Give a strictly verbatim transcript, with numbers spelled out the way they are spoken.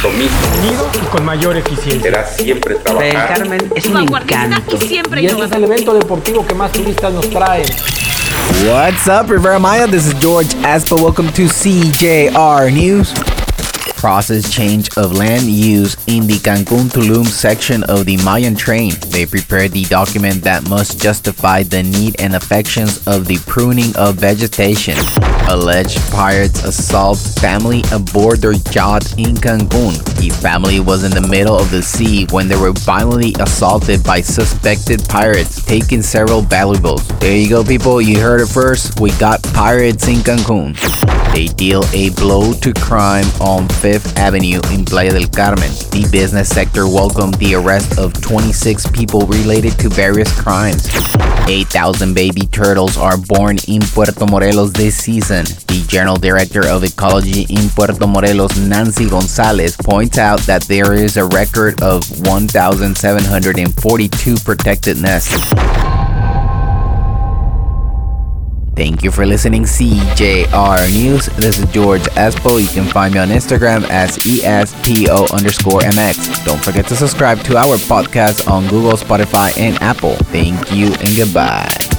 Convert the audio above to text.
compromiso. Unido y con mayor eficiencia. Será siempre trabajar. El Carmen es un encanto. Y siempre Y este es el evento deportivo que más turistas nos trae. What's up, Rivera Maya? This is George Aspa. Welcome to C J R News. Process change of land use in the Cancun Tulum section of the Mayan train. They prepared the document that must justify the need and affections of the pruning of vegetation. Alleged pirates assault family aboard their yacht in Cancun. The family was in the middle of the sea when they were violently assaulted by suspected pirates, taking several valuables. There you go, people. You heard it first. We got pirates in Cancun. They deal a blow to crime on Fifth Avenue in Playa del Carmen. The business sector welcomed the arrest of twenty-six people related to various crimes. eight thousand baby turtles are born in Puerto Morelos this season. The General Director of Ecology in Puerto Morelos, Nancy Gonzalez, points out that there is a record of one thousand seven hundred forty-two protected nests. Thank you for listening, C J R News. This is George Espo. You can find me on Instagram as E S P O underscore M X. Don't forget to subscribe to our podcast on Google, Spotify, and Apple. Thank you and goodbye.